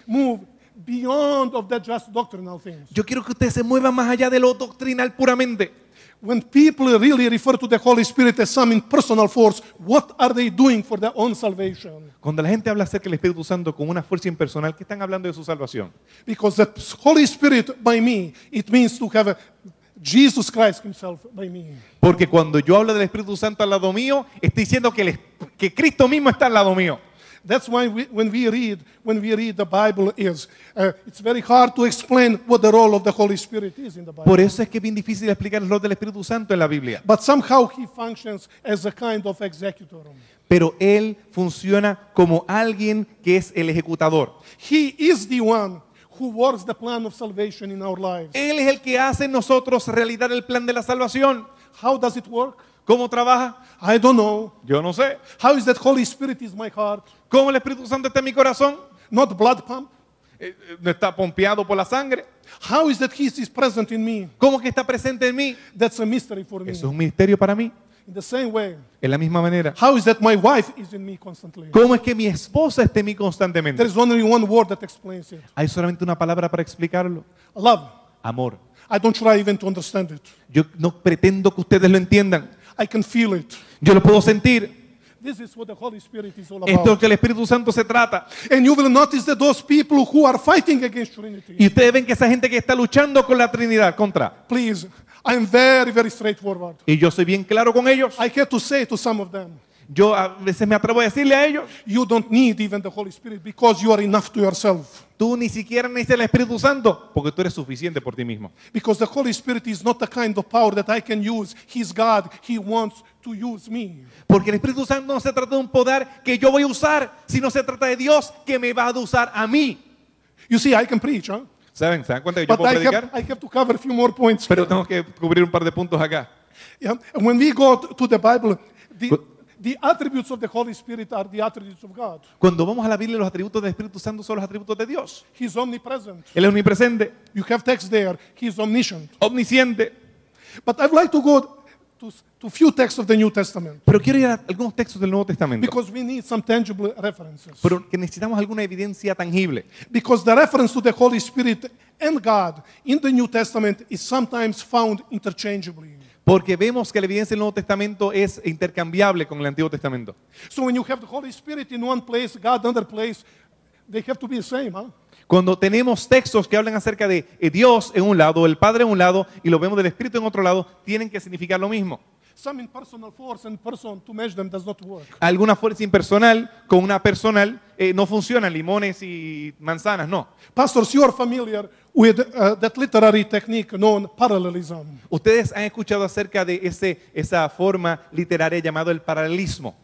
move beyond of the just doctrinal things. Yo quiero que ustedes se muevan más allá de lo doctrinal puramente. When people really refer to the Holy Spirit as some impersonal force, what are they doing for their own salvation? Cuando la gente habla acerca del Espíritu Santo con una fuerza impersonal, ¿qué están hablando de su salvación? Because the Holy Spirit by me, it means to have Jesus Christ himself by me. Porque cuando yo hablo del Espíritu Santo al lado mío, estoy diciendo que Cristo mismo está al lado mío. That's why when we read the Bible it's very hard to explain what the role of the Holy Spirit is in the Bible. Por eso es que es bien difícil explicar el rol del Espíritu Santo en la Biblia. But somehow he functions as a kind of executor. Pero Él funciona como alguien que es el ejecutador. He is the one who works the plan of salvation in our lives. Él es el que hace en nosotros realidad el plan de la salvación. How does it work? ¿Cómo trabaja? I don't know. Yo no sé. How is that Holy Spirit is my heart? ¿Cómo el Espíritu Santo está en mi corazón? Not blood pump. ¿No está pompeado por la sangre? How is that he is present in me? ¿Cómo que está presente en mí? That's a mystery for me. Eso es un misterio para mí. In the same way, De la misma manera. how is that my wife is in me constantly? ¿Cómo es que mi esposa está en mí constantemente? There is only one word that explains it. Hay solamente una palabra para explicarlo. Love. Amor. I don't try even to understand it. Yo no pretendo que ustedes lo entiendan. I can feel it. Yo lo puedo sentir. This is what the Holy Spirit is all Esto es lo about. que el Espíritu Santo se trata. And you will notice that those people who are fighting against Trinity, Y ustedes ven que esa gente que está luchando con la Trinidad contra. please, I'm very, very straightforward. Y yo soy bien claro con ellos. I had to say to some of them, Yo a veces me atrevo a decirle a ellos, you don't need even the Holy Spirit because you are enough to yourself. tú ni siquiera necesitas el Espíritu Santo porque tú eres suficiente por ti mismo. Because the Holy Spirit is not the kind of power that I can use. He's God. He wants to use me. Porque el Espíritu Santo no se trata de un poder que yo voy a usar, sino se trata de Dios que me va a usar a mí. You see, I can preach, huh? ¿Saben? ¿Se dan cuenta que yo But puedo predicar? I have to cover a few more points. Pero tengo que cubrir un par de puntos acá. Yeah. And when we go to the Bible, Good. the attributes of the Holy Spirit are the attributes of God. Cuando vamos a la Biblia, los atributos del Espíritu Santo son los atributos de Dios. He's omnipresent. Él es omnipresente, You have text there. He's omniscient. omnisciente. But I'd like to go to few texts of the New Testament Pero quiero ir a algunos textos del Nuevo Testamento. because we need some tangible references. Pero que necesitamos alguna evidencia tangible. Because the reference to the Holy Spirit and God in the New Testament is sometimes found interchangeably. Porque vemos que la evidencia del Nuevo Testamento es intercambiable con el Antiguo Testamento. So when you have the Holy Spirit in one place, God in another place, they have to be the same, huh? Cuando tenemos textos que hablan acerca de Dios en un lado, el Padre en un lado, y lo vemos del Espíritu en otro lado, tienen que significar lo mismo. Some impersonal force and person to measure them does not work. Alguna fuerza impersonal con una personal no funcionan, limones y manzanas, no. Pastors, you are familiar with that literary technique known parallelism. Ustedes han escuchado acerca de esa forma literaria llamado el paralelismo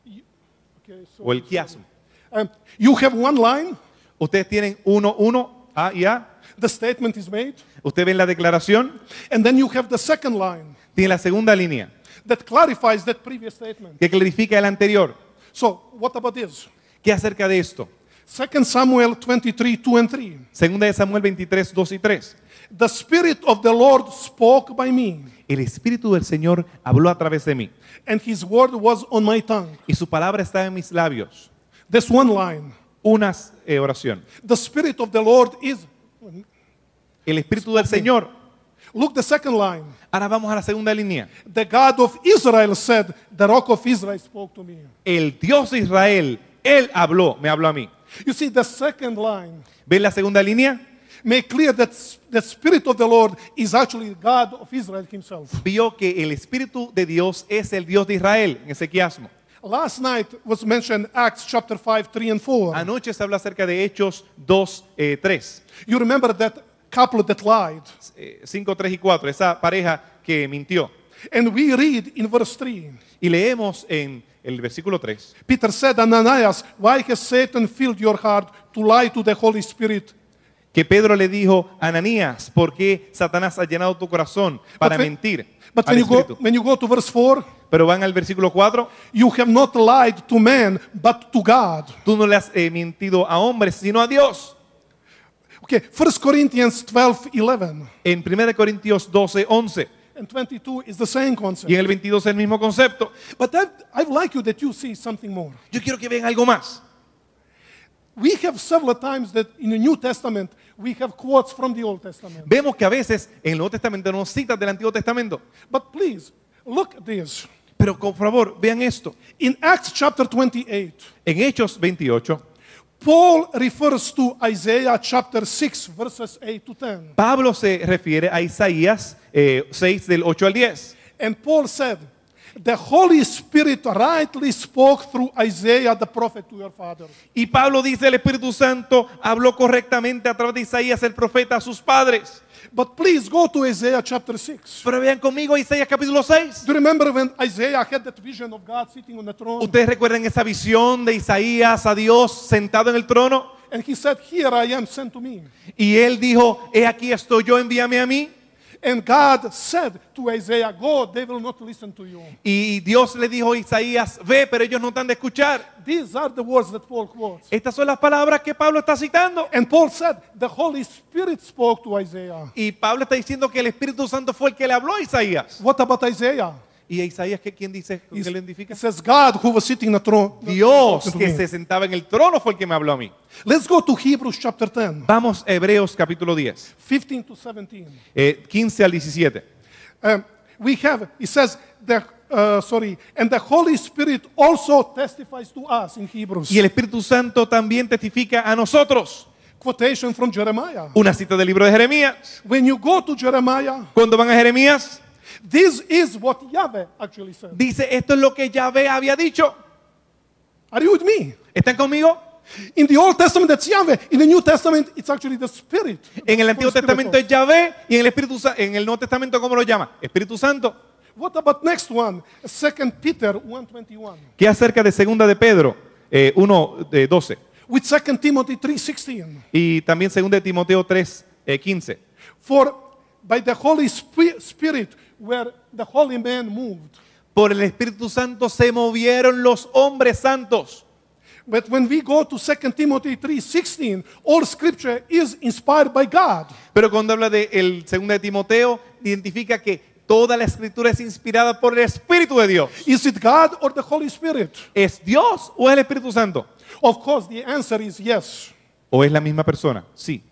Okay, so, o el quiasmo. you have one line, Ustedes tienen uno, A y A. the statement is made, Usted ven la declaración, and then you have the second line tiene la segunda línea that clarifies that previous statement. que clarifica el anterior. So, what about this? ¿Qué acerca de esto? 2 Samuel 23, 2 and 3. Segunda de Samuel 23, 2 y 3. The Spirit of the Lord spoke by me, El Espíritu del Señor habló a través de mí and His word was on my tongue. y su palabra está en mis labios. That's one line. Una oración. The Spirit of the Lord is. El Espíritu del Señor. Look the second line. Ahora vamos a la segunda línea. The God of Israel said, the Rock of Israel spoke to me. El Dios de Israel, Él habló, me habló a mí. You see, the second line ¿Ven la segunda línea? make clear that the Spirit of the Lord is actually God of Israel Himself. Vio que el Espíritu de Dios es el Dios de Israel, en ese quiasmo. Last night was mentioned Acts chapter 5, 3 and 4. Anoche se habló acerca de Hechos 2, 3. You remember that couple that lied. 5, 3 y 4, esa pareja que mintió. And we read in verse 3. Y leemos en el versículo 3. Peter said, Ananias, why has Satan filled your heart to lie to the Holy Spirit? Que Pedro le dijo, Ananías, ¿por qué Satanás ha llenado tu corazón para when- mentir But al when Espíritu? you go to verse 4, Pero van al versículo 4, you have not lied to man, but to God. tú no le has mentido a hombres, sino a Dios. Okay, 1 Corinthians 12, 11 En 1 Corintios 12, 11 and 22 is the same y concept. en el 22 el mismo concepto. But I'd like you that you see something more. Yo quiero que vean algo más. We have several times that in the New Testament we have quotes from the Old Testament. Vemos que a veces en el Nuevo Testamento nos citas del Antiguo Testamento. But please, look at this. Pero por favor, vean esto. In Acts chapter 28, En Hechos 28, Paul refers to Isaiah chapter 6, verses 8 to 10. Pablo se refiere a Isaías 6 del 8 al 10. And Paul said, the Holy Spirit rightly spoke through Isaiah the prophet to your fathers. Y Pablo dice, el Espíritu Santo habló correctamente a través de Isaías el profeta a sus padres. But please go to Isaiah chapter 6. Pero vean conmigo Isaías capítulo 6. Do you remember when Isaiah had that vision of God sitting on the throne? ¿Ustedes recuerdan esa visión de Isaías a Dios sentado en el trono? And he said, here I am, sent to me. Y él dijo, he aquí estoy yo, envíame a mí. And God said to Isaiah, go, they will not listen to you. Y Dios le dijo a Isaías, ve, pero ellos no están de escuchar. These are the words that Paul quotes. Estas son las palabras que Pablo está citando. And Paul said, the Holy Spirit spoke to Isaiah. Y Pablo está diciendo que el Espíritu Santo fue el que le habló a Isaías. What about Isaiah? ¿Y a Isaías quién dice? ¿Qué le identifica? It says, God who was sitting on the throne. Dios to que me. se sentaba en el trono fue el que me habló a mí. Let's go to Hebrews chapter 10, Vamos a Hebreos capítulo 10, 15 to 17. 15 al 17. We have, it says, and the Holy Spirit also testifies to us in Hebrews. Y el Espíritu Santo también testifica a nosotros. Quotation from Jeremiah. Una cita del libro de Jeremías. When you go to Jeremiah, Cuando van a Jeremías, this is what Yahweh actually said. dice, esto es lo que Yahvé había dicho. Are you with me? ¿Están conmigo? In the Old Testament, that's Yahweh. In the New Testament, it's actually the Spirit. En el Antiguo Holy Spirit Testamento es also. Yahvé y en el Nuevo Testamento, ¿cómo lo llama? Espíritu Santo. What about next one? 2 Peter 1:21. ¿Qué acerca de segunda de Pedro 1:12? With 2 Timothy 3:16. Y también segunda de Timoteo 3:15. For by the Holy Spirit where the holy man moved. Por el Espíritu Santo se movieron los hombres santos. But when we go to 2 Timothy 3:16, all scripture is inspired by God. Pero cuando habla de el segunda de Timoteo, identifica que toda la escritura es inspirada por el Espíritu de Dios. Is it God or the Holy Spirit? ¿Es Dios o es el Espíritu Santo? Of course, the answer is yes. ¿O es la misma persona? Sí.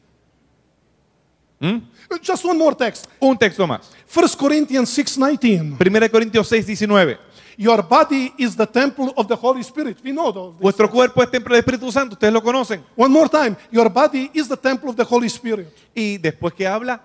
Just one more text. Un texto más. 1 Corinthians 6:19. 1 Corintios 6:19. Your body is the temple of the Holy Spirit. We know those. Vuestro cuerpo es templo del Espíritu Santo, ustedes lo conocen. One more time. Your body is the temple of the Holy Spirit. Y después que habla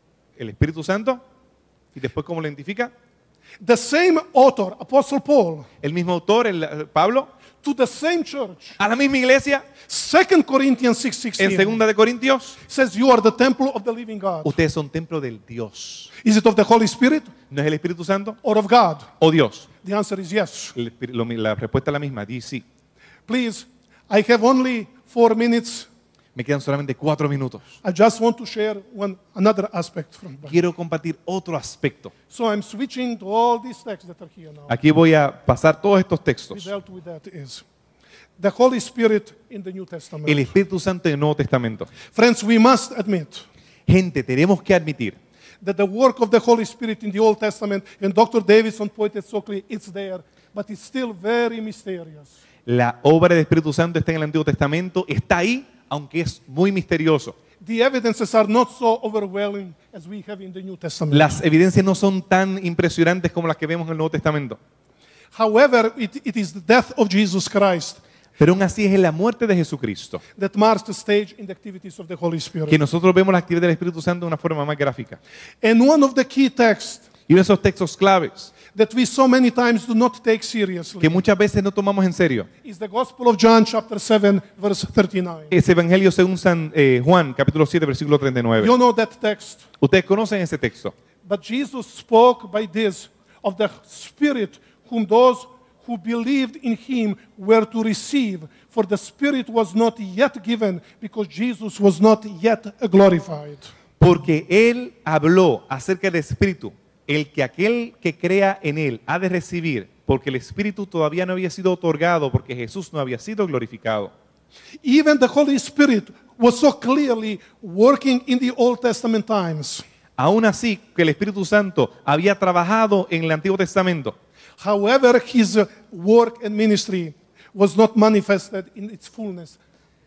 el Espíritu Santo, y después cómo lo identifica, The same author, Apostle Paul, el mismo autor, Pablo, to the same church, a la misma iglesia, 2 Corinthians en 6:16, segunda de Corintios, says you are the temple of the living God. ustedes son templo del Dios. Is it of the Holy Spirit ¿No es el Espíritu Santo or of God? o Dios? The answer is yes. La respuesta es la misma, di sí. Please, I have only 4 minutes. Me quedan solamente 4 minutos. I just want to share another aspect from that. Quiero compartir otro aspecto. So I'm switching to all these texts that are here now. Aquí voy a pasar todos estos We textos. dealt with that is the Holy Spirit in the New Testament. El Espíritu Santo en el Nuevo Testamento. Friends, we must admit Gente, tenemos que admitir that the work of the Holy Spirit in the Old Testament, and Dr. Davidson pointed so clearly, it's there, but it's still very mysterious. la obra del Espíritu Santo está en el Antiguo Testamento, está ahí, aunque es muy misterioso. The evidences are not so overwhelming as we have in the New Testament. Las evidencias no son tan impresionantes como las que vemos en el Nuevo Testamento. However, it is the death of Jesus Christ Pero aún así es la muerte de Jesucristo that marks the stage in the activities of the Holy Spirit. que nosotros vemos la actividad del Espíritu Santo de una forma más gráfica. And one of the key texts Y uno de esos textos claves that we so many times do not take seriously que muchas veces no tomamos en serio is the Gospel of John chapter 7 verse 39. es Evangelio según San Juan, capítulo 7, versículo 39. You know that text. Ustedes conocen ese texto. But Jesus spoke by this of the Spirit whom those who believed in him were to receive, for the Spirit was not yet given because Jesus was not yet glorified. Porque Él habló acerca del Espíritu, el que aquel que crea en Él ha de recibir, porque el Espíritu todavía no había sido otorgado, porque Jesús no había sido glorificado. Even the Holy Spirit was so clearly working in the Old Testament times. Aún así, que el Espíritu Santo había trabajado en el Antiguo Testamento. However, his work and ministry was not manifested in its fullness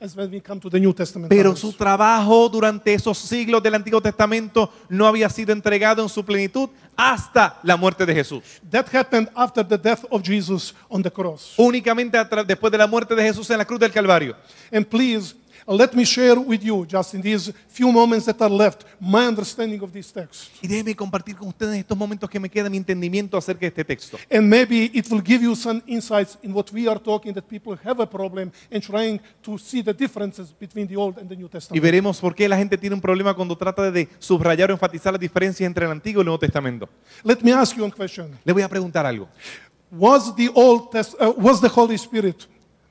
as when we come to the New Testament Pero times. su trabajo durante esos siglos del Antiguo Testamento no había sido entregado en su plenitud hasta la muerte de Jesús. That happened after the death of Jesus on the cross. Únicamente después de la muerte de Jesús en la cruz del Calvario. And please, let me share with you, just in these few moments that are left, my understanding of this text. Y déjeme compartir con ustedes en estos momentos que me queda mi entendimiento acerca de este texto. And maybe it will give you some insights in what we are talking, that people have a problem and trying to see the differences between the Old and the New Y Testament. veremos por qué la gente tiene un problema cuando trata de subrayar o enfatizar las diferencias entre el Antiguo y el Nuevo Testamento. Let me ask you a question. Le voy a preguntar algo. Was the Holy Spirit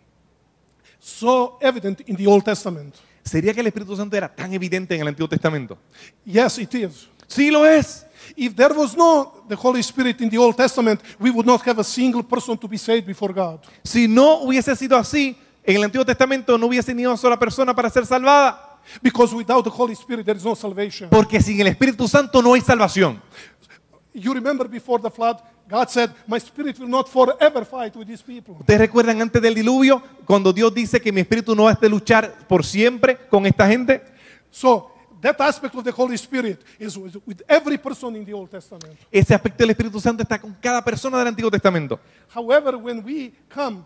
so evident in the Old Testament? ¿Sería que el Espíritu Santo era tan evidente en el Antiguo Testamento? Yes, it is. Sí lo es. If there was no the Holy Spirit in the Old Testament, we would not have a single person to be saved before God. Si no hubiese sido así, en el Antiguo Testamento no hubiese ni una sola persona para ser salvada. Because without the Holy Spirit, there is no salvation. Porque sin el Espíritu Santo no hay salvación. You remember before the flood, God said, my spirit will not forever fight with these people. ¿Ustedes recuerdan antes del diluvio cuando Dios dice que mi espíritu no va a luchar por siempre con esta gente? So that aspect of the Holy Spirit is with every person in the Old Testament. Ese aspecto del Espíritu Santo está con cada persona del Antiguo Testamento. However, when we come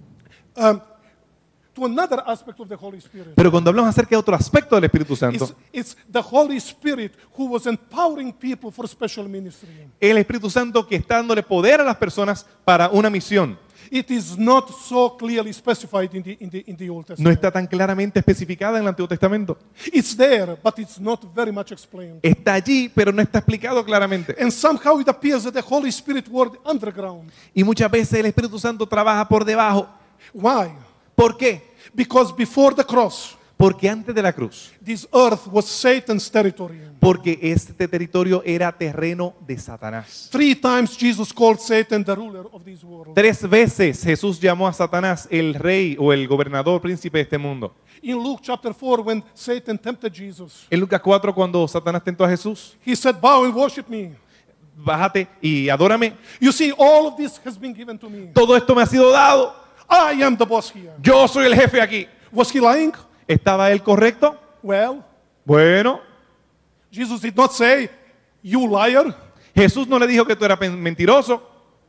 to another aspect of the Holy Spirit, Pero cuando hablamos acerca de otro aspecto del Espíritu Santo, it's the Holy Spirit who was empowering people for special ministry. el Espíritu Santo que está dándole poder a las personas para una misión. It is not so clearly specified in the Old No Testament. está tan claramente especificada en el Antiguo Testamento. It's there, but it's not very much explained. Está allí, pero no está explicado claramente. And somehow it appears that the Holy Spirit worked underground. Y muchas veces el Espíritu Santo trabaja por debajo. Why? ¿Por qué? Because before the cross, Porque antes de la cruz, this earth was Satan's territory. porque este territorio era terreno de Satanás. 3 times Jesus called Satan the ruler of this world. 3 veces Jesús llamó a Satanás el rey o el gobernador, príncipe de este mundo. In Luke chapter 4, when Satan tempted Jesus, En Lucas 4, cuando Satanás tentó a Jesús, he said, bow and worship me. bájate y adórame. You see, all of this has been given to me. Todo esto me ha sido dado. I am the boss here. Yo soy el jefe aquí. Was he lying? ¿Estaba él correcto? Well, Bueno, Jesus did not say, you liar, Jesús no le dijo que tú eras mentiroso,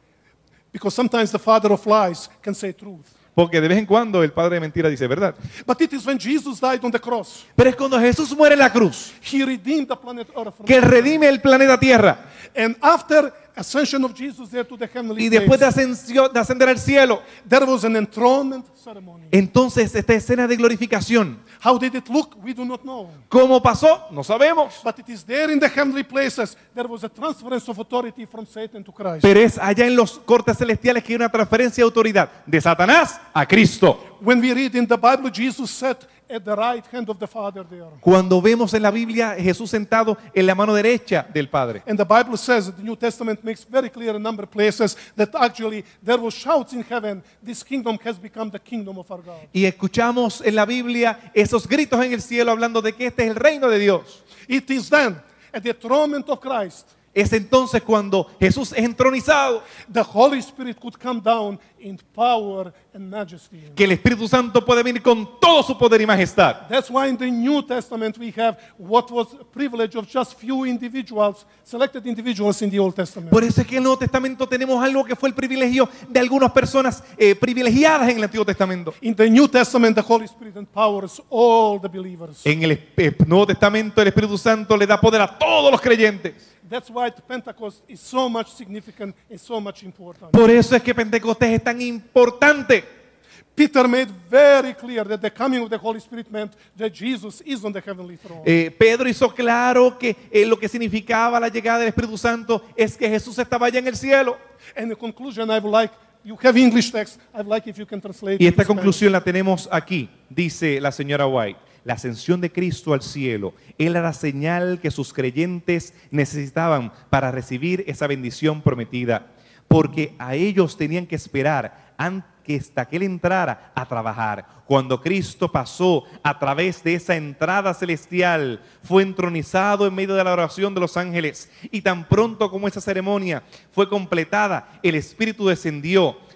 because sometimes the father of lies can say truth. porque de vez en cuando el padre de mentira dice verdad. But it is when Jesus died on the cross, Pero es cuando Jesús muere en la cruz he redeemed the planet Earth from que sin. redime el planeta Tierra. And after ascension of Jesus there to the heavenly Y después de place, ascender al cielo, there was an enthronement ceremony. entonces esta escena de glorificación, How did it look? We do not know. ¿cómo pasó? No sabemos. But it is there in the heavenly places. There was a transference of authority from Satan to Christ. Pero es allá en los cortes celestiales que hay una transferencia de autoridad de Satanás a Cristo. When we read in the Bible, Jesus sat at the right hand of the Father there. Cuando vemos en la Biblia Jesús sentado en la mano derecha del Padre. And the Bible says, the New Testament makes very clear in a number of places that actually there was shouts in heaven, this kingdom has become the kingdom of our God. Y escuchamos en la Biblia esos gritos en el cielo hablando de que este es el reino de Dios. It is then, at the enthronement of Christ, Es entonces cuando Jesús es entronizado the Holy Spirit could come down in power and majesty. que el Espíritu Santo puede venir con todo su poder y majestad. That's why in the New Testament we have what was a privilege of just few individuals, selected individuals in the Old Testament. Por eso es que en el Nuevo Testamento tenemos algo que fue el privilegio de algunas personas privilegiadas en el Antiguo Testamento. In the New Testament, the Holy Spirit empowers all the believers. En el Nuevo Testamento el Espíritu Santo le da poder a todos los creyentes. That's why Pentecost is so much significant and so much important. Por eso es que Pentecostés es tan importante. Peter made very clear that the coming of the Holy Spirit meant that Jesus is on the heavenly throne. Pedro hizo claro que lo que significaba la llegada del Espíritu Santo es que Jesús estaba allá en el cielo. And in conclusion, I would like, you have English text, I'd like if you can translate Y it esta to Spanish. conclusión la tenemos aquí, dice la señora White. La ascensión de Cristo al cielo era la señal que sus creyentes necesitaban para recibir esa bendición prometida, porque a ellos tenían que esperar hasta que Él entrara a trabajar. Cuando Cristo pasó a través de esa entrada celestial, fue entronizado en medio de la oración de los ángeles, y tan pronto como esa ceremonia fue completada, el Espíritu descendió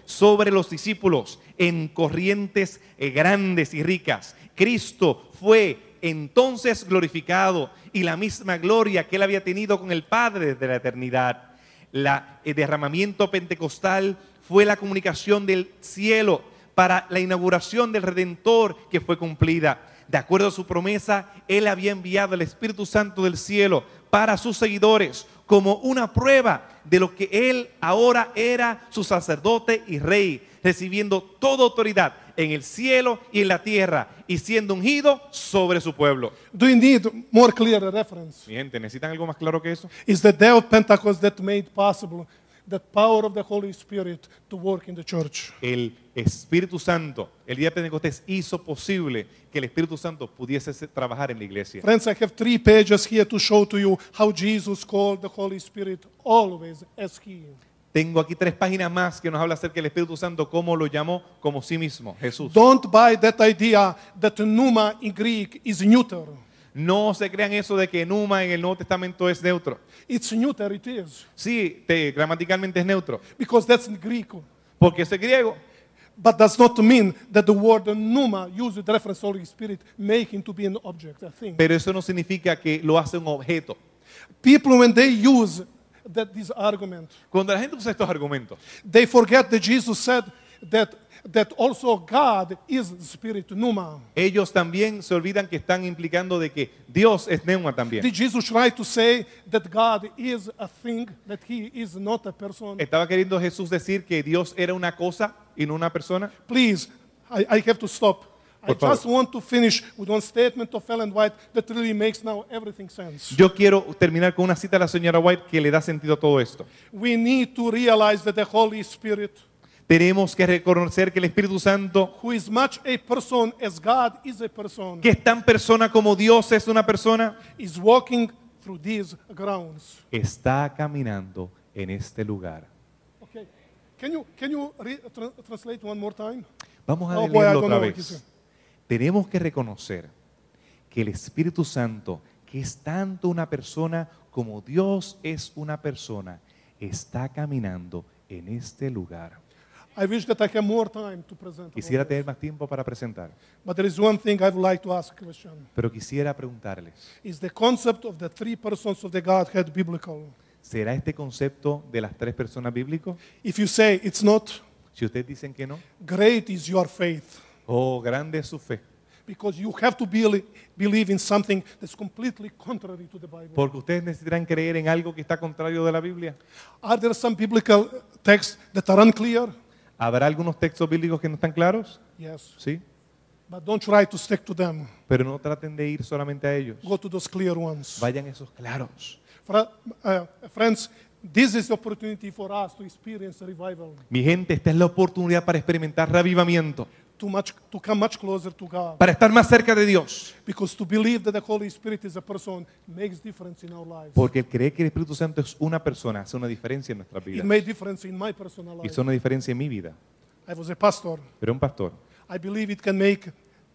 sobre los discípulos en corrientes grandes y ricas. Cristo fue entonces glorificado y la misma gloria que él había tenido con el Padre desde la eternidad. El derramamiento pentecostal fue la comunicación del cielo para la inauguración del Redentor que fue cumplida. De acuerdo a su promesa, él había enviado el Espíritu Santo del cielo para sus seguidores como una prueba de lo que él ahora era su sacerdote y rey, recibiendo toda autoridad en el cielo y en la tierra y siendo ungido sobre su pueblo. Do you need more clear reference? Mi gente, ¿necesitan algo más claro que eso? It's the day of Pentecost that made possible the power of the Holy Spirit to work in the church. El Espíritu Santo, el día de Pentecostés hizo posible que el Espíritu Santo pudiese trabajar en la iglesia. Friends, I have 3 pages here to show to you how Jesus called the Holy Spirit always as He. Tengo aquí 3 páginas más que nos habla acerca del Espíritu Santo, cómo lo llamó como sí mismo, Jesús. Don't buy that idea that pneuma in Greek is neuter. No se crean eso de que pneuma en el Nuevo Testamento es neutro. It's neuter, it is. Sí, gramaticalmente es neutro, Because that's in Greek. porque es griego. But does not mean that the word pneuma used with reference to the Holy Spirit make him to be an object, a thing. Pero eso no significa que lo hace un objeto. People, when they use this argument, Cuando la gente usa estos argumentos, they forget that Jesus said that also God is spirit, pneuma. ellos también se olvidan que están implicando de que Dios es pneuma también. Did Jesus try to say that God is a thing, that he is not a person? ¿Estaba queriendo Jesús decir que Dios era una cosa y no una persona? Please, I have to stop. I Por favor. just want to finish with one statement of Ellen White that really makes now everything sense. Yo quiero terminar con una cita de la señora White que le da sentido a todo esto. We need to realize that the Holy Spirit, Tenemos que reconocer que el Espíritu Santo, who is much a person as God is a person, que es tan persona como Dios es una persona, is walking through these grounds. está caminando en este lugar. Okay. Can you translate one more time? Vamos a Oh, boy, I leerlo don't otra know what he vez. said. Tenemos que reconocer que el Espíritu Santo, que es tanto una persona como Dios es una persona, está caminando en este lugar. I wish that I had more time to present. Quisiera about tener más tiempo para presentar, this. But there is one thing I would like to ask a question. pero quisiera preguntarles, Is the concept of the 3 persons of the Godhead biblical? ¿será este concepto de las 3 personas bíblico? If you say it's not, Si ustedes dicen que no, great is your faith. oh, grande es su fe, Because you have to believe in something that's completely contrary to the Bible. porque ustedes necesitarán creer en algo que está contrario de la Biblia. Are there some biblical texts that are unclear? ¿Habrá algunos textos bíblicos que no están claros? Yes. Sí, But don't try to stick to them. pero no traten de ir solamente a ellos. Go to those clear ones. Vayan a esos claros. Friends, this is the opportunity for us to experience a revival. Mi gente, esta es la oportunidad para experimentar revivamiento, To come much closer to God. para estar más cerca de Dios. Because to believe that the Holy Spirit is a person makes difference in our lives. Porque el creer que el Espíritu Santo es una persona hace una diferencia en nuestras It vidas. made difference in my personal Hizo life. una diferencia en mi vida. I was a pastor. Pero un pastor, I believe it can make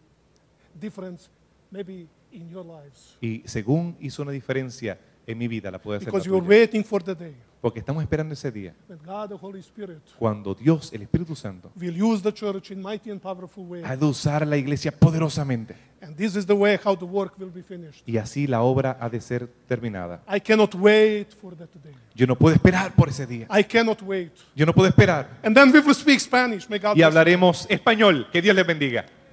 difference maybe in your lives. y según hizo una diferencia en mi vida, la puede hacer la Because you're tuya. waiting for the day Porque estamos esperando ese día, when God, the Holy Spirit, cuando Dios, el Espíritu Santo, will use the church in mighty and powerful way. ha de usar a la iglesia poderosamente. And this is the way how the work will be finished. Y así la obra ha de ser terminada. I cannot wait for that day. Yo no puedo esperar por ese día. I cannot wait. Yo no puedo esperar. And then we will speak Spanish. May God Y bless you. hablaremos español. Que Dios les bendiga.